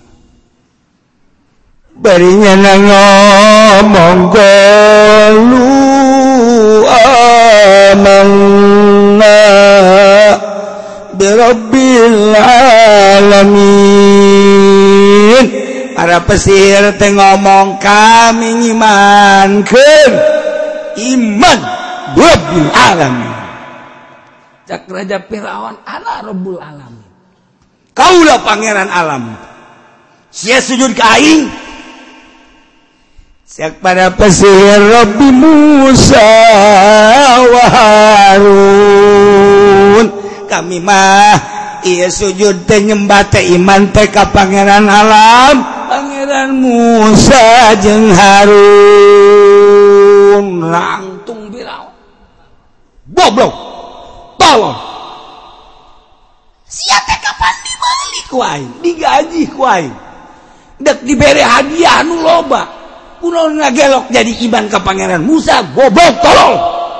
Barinya ngomong qalu amanna bi rabbil alamin. Para pesihir teh ngomong kami ngimankeun iman Rabbul Alamin. Cak Raja Firaun ana Rabbul Alamin. Kaulah pangeran alam. Sia sujud ka aing. Sak para pesihir Rabbi Musa wa Harun. Kami mah ieu sujud teh nyembah teh iman teh ka pangeran alam. Pangeran Musa jeung Harun Rangtung Firaun. Goblok. Tolong. Sia teh kapan dibeli ku aing, digaji ku aing. Dek dibere hadiah anu loba. Kunaon ngagelok jadi iman ka pangeran Musa, goblok tolong.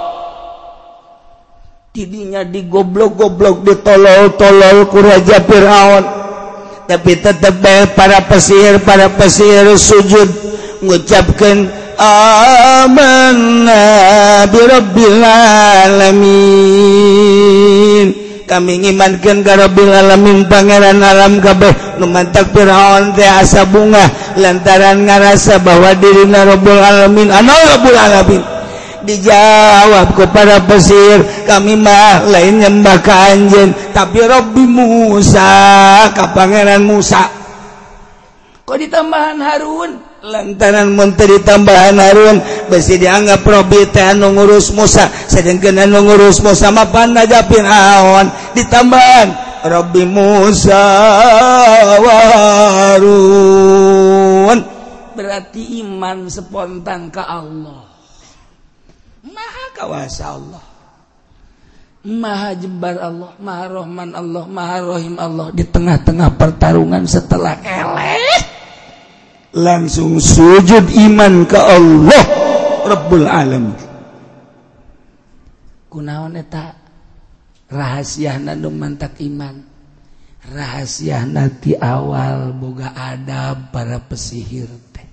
Tidinya digoblok-goblok ditolol-tolol ku Raja Firaun. Tapi tetap para pesihir para pesihir sujud mengucapkan amanna bi rabbil alamin. Kami ngimankeun ka Rabbil alamin pangeran alam kabeh. Nu mantak Firaun teh asa bunga lantaran ngarasa bahwa dirina Rabbul alamin ana Rabbul alamin. Dijawab kepada pesir kami mah lain nyembah ka anjeun tapi Rabbi Musa ka pangeran Musa. Kok ditambahan Harun? Lantaran mun teu ditambahan Harun besi dianggap Rabbi teh anu ngurus Musa sedengkeun anu ngurus Musa mah panaja Firaun ditambahan Rabbi Musa wa Harun. Berarti iman spontan ke Allah. Maha kawasa Allah, Maha jembar Allah, Maha Rahman Allah, Maha Rahim Allah. Di tengah-tengah pertarungan setelah eleh langsung sujud iman ke Allah Rabbul Alamin. Kunaon eta rahasiana nu mantak iman? Rahasiana ti awal boga adab para pesihir teh.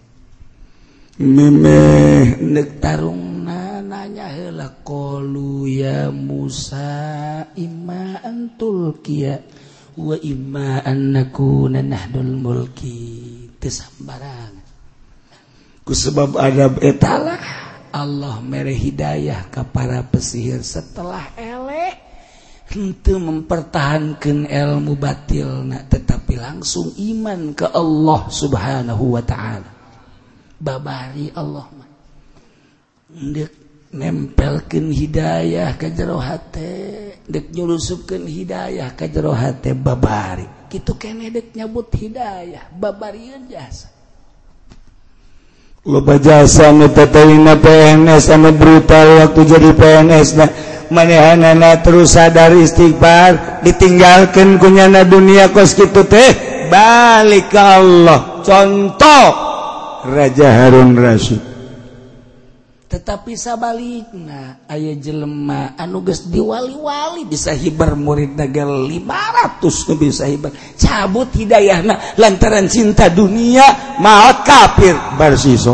Memeh Nek tarungna nanya heula qalu ya Musa imma antul kia wa imma an nakuna nahdul mulki. Teu sambarangan. Ku sebab adab eta Talah Allah mere hidayah ka para pesihir setelah eleh henteu mempertahankeun ilmu batilna tetapi langsung iman ke Allah Subhanahu wa taala. Babari Allah mah dek nempelkeun hidayah ka jero hate, dek nyulusupkeun hidayah ka jero hate babari. Kitu keneh dek nyabut hidayah, babarieun jasa. loba jasa nu teuing P N S anu brutal waktu jadi P N S na manehanana terus sadar istighfar ditinggalkeun ku nyana dunia kos kitu teh balik ka Allah. Contoh Raja Harun Rasyid. Tetapi sabalikna aya jelema anu geus diwali-wali bisa hibar murid naga lima ratus nu bisa hibar cabut hidayahna lantaran cinta dunia maot kafir barsiso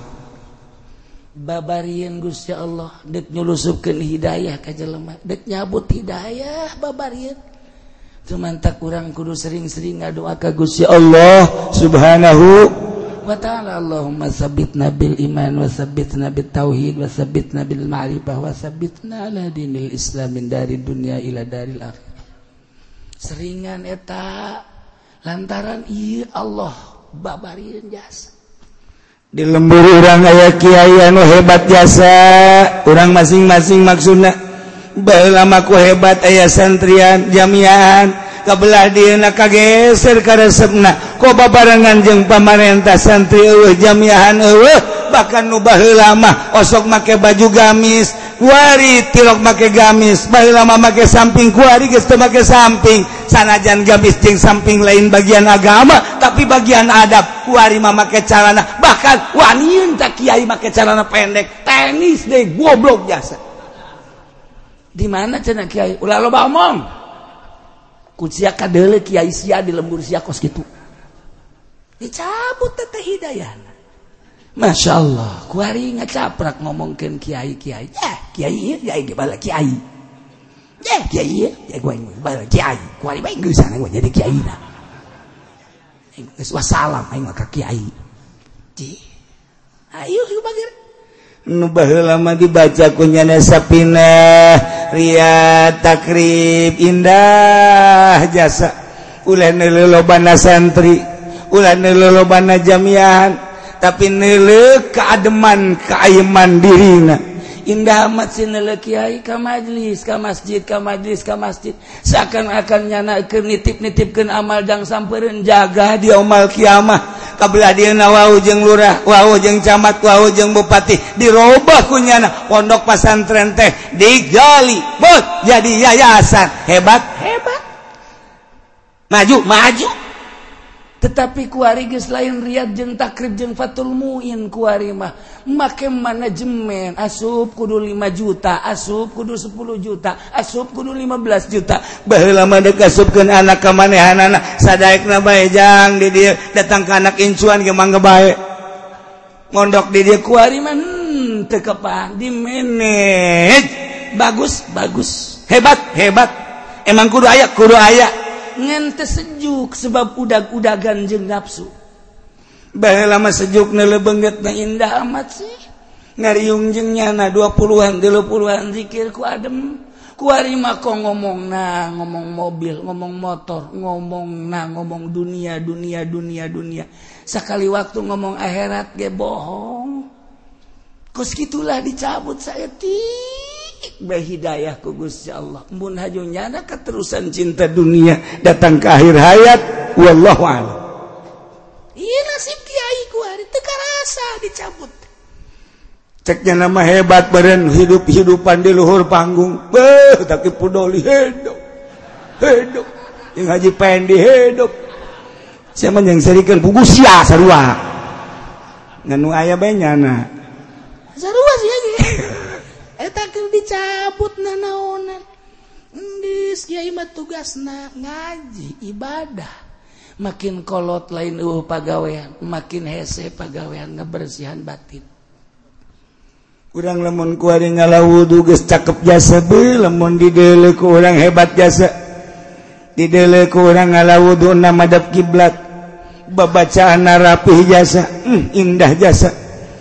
babarieun Gusti Allah dek nyulusupkeun hidayah ka jelema dek nyabut hidayah babarieun tumantak urang kudu sering-sering ngadoa ka Gusti Allah Subhanahu wa ta'ala. Allahumma sabbitna bil iman wa sabbitna bit tauhid wa sabbitna bil ma'rifah wa sabbitna ala dinil islam min dari dunia ila daril akhirah. Seringan eta lantaran ieu Allah babarieun jasa. Di lembur urang aya kiai anu hebat jasa, urang masing-masing maksudna baheula mah ku hebat aya santrian jamiahan kabelah dieuna kageser ka resepna ko babarengan jeung pamarentah santri eueuh jamiahan eueuh bahkan nu baheula mah osok make baju gamis kuari tilok make gamis baheula mah make samping kuari geus teu make samping sanajan gamis jeung samping lain bagian agama tapi bagian adab kuari mah make calana bahkan wanieun tak kiai make calana pendek tenis deui goblok jasa. Di mana cenah kiai ulah loba omong kucia kadele kiai sia di lembur sia kos gitu dicabut teteh hidayahna. Masya Allah kuari ngacaprak ngomongkeun kiai kiai eh kiai ieu kiai ge bala kiai eh kiai ieu kiai gua bala kiai kuari bae geus sana gua jadi kiaina geus wassalam aing mah ka kiai ci ayo bagir nu baheula mah dibaca ku nyana Sapinah Riyad Takrib indah jasa ulah neuleuh lobana santri ulah neuleuh lobana jamiahan tapi neuleuh kaademan kaayeman dirina indah amat si neuleuh kiai ka majlis ka masjid ka majlis ka masjid seakan-akan nyanakeun nitip-nitipkeun amal jang sampeureun jaga di yaumul kiamah kabelah dieuna wau jeung lurah wau jeung camat wau jeung bupati dirobah ku nyana pondok pasantren teh digali bot jadi yayasan hebat hebat maju maju tetapi kuari geus lain Riyad jeung Takrib jeung Fathul Muin kuari mah make manajemen asup kudu lima juta asup kudu sepuluh juta asup kudu lima belas juta baheula mah deuk asupkeun anak ka manehanana sadaekna bae jang di dieu datang ka anak incuan ge mangga bae ngondok di dieu kuari mah hmm, teu kepan di manage bagus bagus hebat hebat emang kudu aya kudu aya ngan teu sejuk sebab udag-udagan jeung nafsu baheula mah sejuk neuleuh beungeutna indah amat sih ngariung jeung nyana dua puluhan tilu puluhan zikir ku adem kuari mah kok ngomongna ngomong mobil ngomong motor ngomongna ngomong dunia dunia dunia dunia sakali waktu ngomong akhirat ge bohong kos kitulah dicabut saya ti bae hidayah ku Gusti Allah mun haju nyana keterusan cinta dunia datang ke akhir hayat wallahu a'lam. Ieu nasib kiai ku hari teu karasa dicabut ceknya nama hebat beren hidup-hidupan di luhur panggung beuh tapi pudoli hidup hidup yang haji pendi hidup siapa yang serikeun pugu sia sarua nganu aya bae nyana sarua sia ge eta keur dicabut nanaonan geus kiai mah tugasna ngaji ibadah makin kolot lain eueuh pagawean makin hese pagawean ngabersihan batin. Urang lamun kuari ngalawudu geus cakep jasa beuh lamun dideuleuh ku urang hebat jasa dideuleuh ku urang ngalawudu na madhab kiblat babacaanna rapih jasa hmm, indah jasa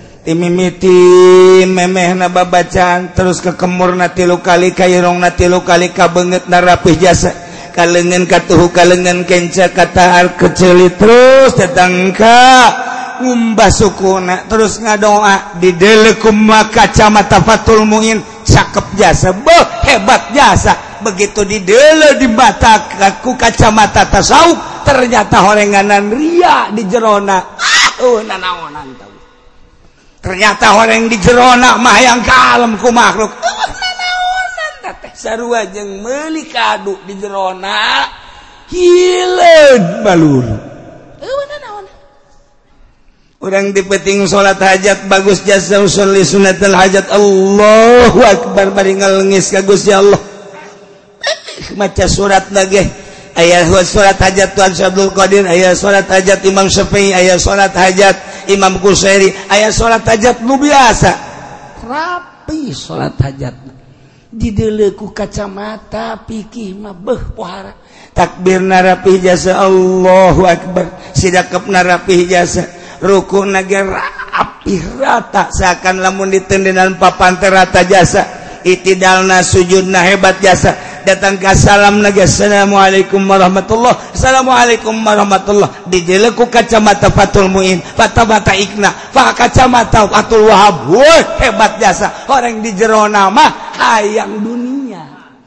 timimiti memehna babacaan terus ke kemurna tilu kali ka irongna tilu kali ka beungeutna rapih jasa kalengan katuhu kalengan kenca katahar kecelit terus datang ka ngumbah sukuna terus ngadoa dideuleuh ku kacamata Fathul Muin cakep jasa beuh hebat jasa begitu dideuleuh di mata ku kacamata tasawuf ternyata horenganan ria di jerona ah uh, nanaonan tahu ternyata orang di jerona mah yang kalem ku makhluk nanaonan teh sarua jeung meuli kadu di jerona hileud balur eueuh nanaon urang dipeting salat hajat bagus jasa usolli sunnatul hajat Allahu akbar bari ngalengis ka Gusti Allah maca surat lagi aya surat hajat Tuan Abdul Qadir aya surat hajat Imam Syafi'i aya surat hajat Imam Qusairi aya salat hajat nu biasa rapi salat hajat dideuleu ku kacamata pikih mah beuh pohara takbirna rapi jasa Allahu akbar sidakepna rapi jasa rukuna ge rapi rata seakan lamun ditendenan papan teh rata jasa itidalna sujudna hebat jasa datang ke salam naga assalamualaikum warahmatullah assalamualaikum warahmatullah dideleu ku kacamata Fatul Muin fatamata ikna fa kacamata Fatul Wahab wah hebat jasa orang di jerona mah hayang dunia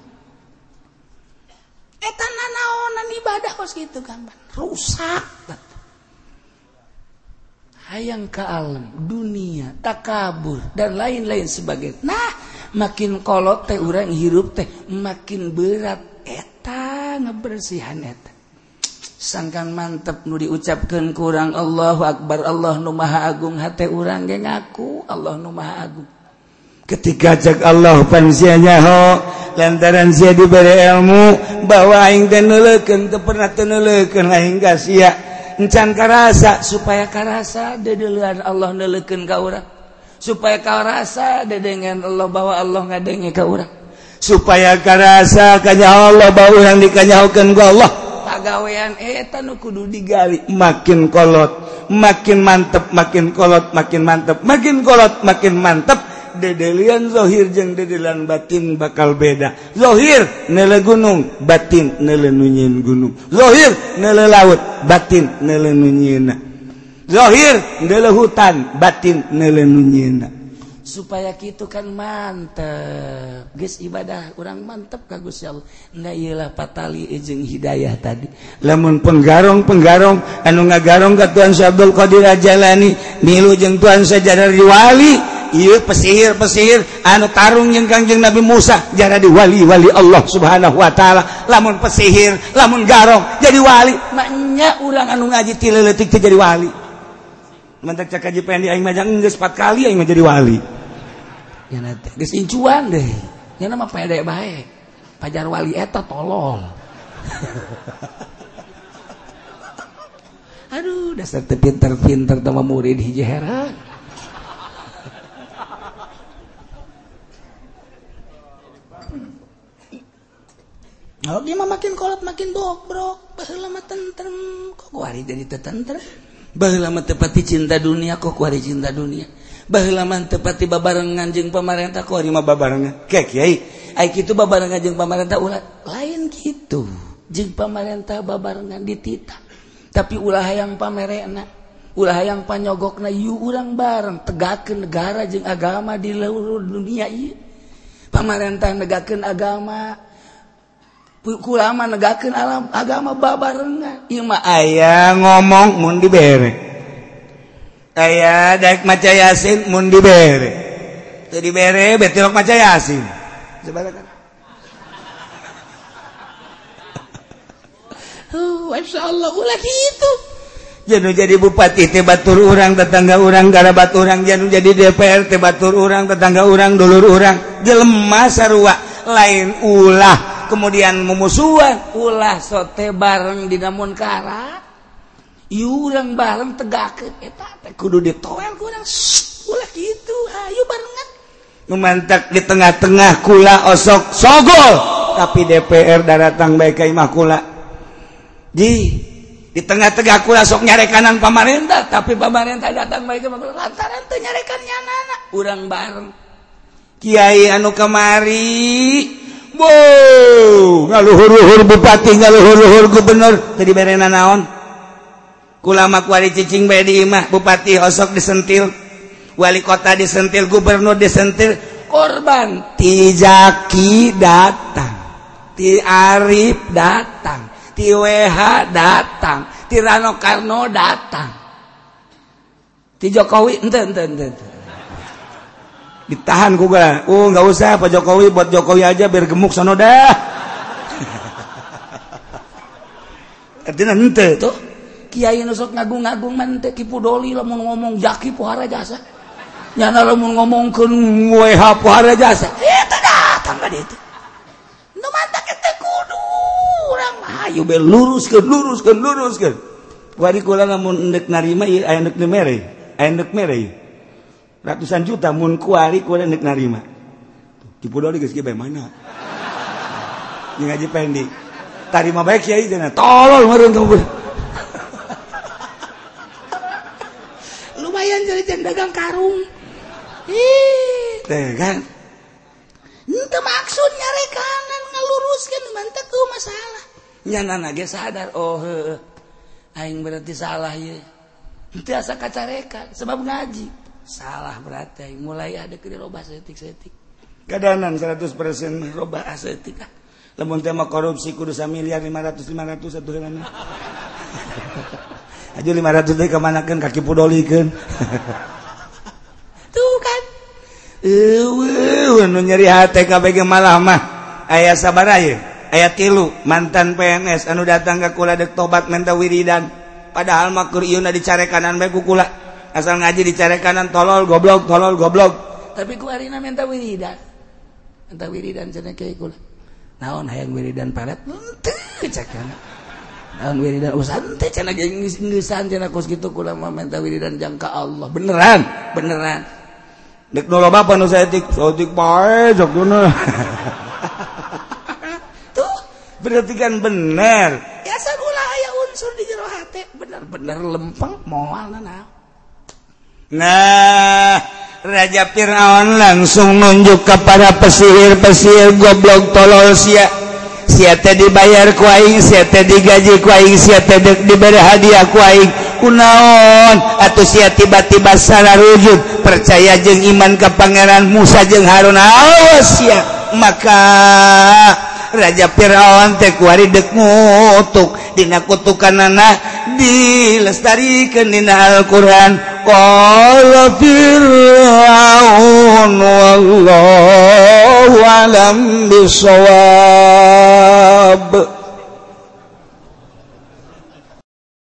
eta nanaonan ibadah kos kitu gambar rusak hayang ka alam dunia takabur dan lain-lain sebagainya nah makin kolot teh urang hirup teh makin berat eta ngebersihan eta sangkan mantep nu diucapkeun ku urang Allahu akbar Allah nu maha agung hate urang ge ngaku Allah nu maha agung ketika cek Allah pan sia nyaho lantaran sia diberi ilmu bahwa aing teh neuleukeun teu pernah teu neuleukeun aing ka sia encan karasa supaya karasa dedeleuan Allah neuleukeun ka urang supaya karasa dedengan Allah bahwa Allah ngadenge ka urang supaya karasa kanyaho Allah bahwa urang dikanyahokeun ku Allah pagawean eta nu kudu digali makin kolot makin mantep makin kolot makin mantep makin kolot makin mantep dedelian zahir jeung dedelian batin bakal beda zahir neule gunung batin neule nu nyieun gunung zahir neule laut batin neule nu nyieunna zahir neule hutan batin neule nu nyieunna supaya kitu kan mantep geus ibadah urang mantep ka Gusti Allah da ieu lah patali jeung hidayah tadi lamun penggarong-penggarong anu ngagarong ka Tuan Abdul Qadir Jalani milu jeung Tuan Sajadar wali ieu pesihir-pesihir anu tarung jeung Kangjeng Nabi Musa jadi wali-wali Allah Subhanahu wa taala lamun pesihir lamun garong jadi wali maknya urang anu ngaji ti leutik teh jadi wali mantak cak kaji pendi aing mah geus empat kali aing mah jadi wali nya teh geus incuan deh nya mah pede bae pajar wali eta tolol aduh dasar teu pinter-pinter teh mah murid hiji heran oh dia mah makin kolot makin bobrok baheula mah tentrem kok kuari jadi teu tentrem baheula mah teu pati cinta dunia kok kuari cinta dunia baheula mah teu pati babarengan jeung pamarentah kuari mah babarengan ke kiai ai kitu babarengan jeung pamarentah ulah lain kitu jeung pamarentah babarengan dititah tapi ulah hayang pamerena ulah hayang panyogokna ieu urang bareng tegakeun negara jeung agama di seluruh dunia ieu pamarentah negakeun agama kulama negakeun alam agama babarengan ieu mah aya ngomong mun dibere aya daek maca yasin mun dibere teu dibere betilok maca yasin sabaraha oh insyaallah ulah kitu janu jadi bupati teh batur urang tetangga urang garabat urang janu jadi D P R teh batur urang tetangga urang dulur urang jelema sarua lain ulah kemudian memusuhan ulah sote bareng di namun kara ieu urang bareng tegakeun eta teh kudu ditoel ku urang ulah kitu hayu barengan nu mantak di tengah-tengah kula osok sogol tapi D P R daratang bae ka imah kula di di tengah-tengah kula sok nyarekanan pamarentah tapi pamarentah datang bae ka imah kula lantaran teu nyarekan nyanana urang bareng kiai anu kamari wow, ngaluhur-luhur bupati, ngaluhur-luhur gubernur, tadi berena naon. Kula mah kuari cicing bae di imah, bupati osok disentil, wali kota disentil, gubernur disentil, korban. Ti Jaki datang, Ti Arif datang, Ti W H datang, Ti Rano Karno datang, Ti Jokowi ente ente ente. ditahan kuga. Oh nggak usah Pak Jokowi, buat Jokowi aja biar gemuk sono dah. Artinya ente tuh kiai nu sok ngagung-ngagung mah teh Ki Pudoli lamun ngomong jaki pohara jasa. Nyana lamun ngomongkeun W H pohara jasa. Eta datang ka dieu. Nu mantak teh kudu urang mah ayo be luruskeun luruskeun luruskeun. Kuari kula lamun endek narima ieu aya endek mere. Aya endek mere. Ratusan juta mun kuari kula endek narima. Ki Pudoli geus kieu bae mana? Jeung Haji Pendi. Tarima bae kiai cenah. Tolol meureun kamu. Lumayan jadi dagang karung. Ih, teh kan. Henteu maksud nyarekanan ngaluruskeun mantep ku masalah. Nyanana ge sadar oh heueuh. Aing berarti salah ieu. Henteu asa kacarekan sebab ngaji. Salah berarti aing mulai ada ke robah setik-setik. Kadanan seratus persen robah asetik. Lamun teh mah korupsi kudu samiliar lima ratus lima ratus atuh heulana. Aja lima ratus teh kamanakeun kaki pudolikeun. Tuh kan. Eueuh nu nyeri hate kabeh ge malah mah aya sabaraha ye? Aya tilu mantan P N S anu datang ka kula dek tobat menta wiridan. Padahal mah keur ieuna dicarekanan bae ku kula. Asal ngaji dicarekanan tolol goblok tolol goblok. Tapi ku arina menta wiridan. Menta wiridan cenah kiai kula. Naon hayang wiridan palet? Henteu cakeun. Naon wiridan usan teh cenah geus-geusan cenah kos kitu kula mah menta wiridan jangka Allah. Beneran, beneran. Dek nu loba apa nu saeutik? Saeutik bae sok duna. Tuh, berarti kan bener. Ya sagula aya unsur di jero hate, bener-bener lempeng moalna naon. Nah, Raja Fir'aun langsung nunjuk kepada pesihir-pesihir goblok tolol sia. Sia teh dibayar ku aing, sia teh digaji ku aing, sia teh diberi hadiah ku aing. Kunaon atuh sia tiba-tiba salah rujud percaya jeung iman ka Pangeran Musa jeung Harun. Awas sia. Maka Raja Fir'aun teh kuari dek ngutuk dina kutukanana dilestarikeun dina Al-Qur'an. Qala Fir'aun wallahu alam bisawab.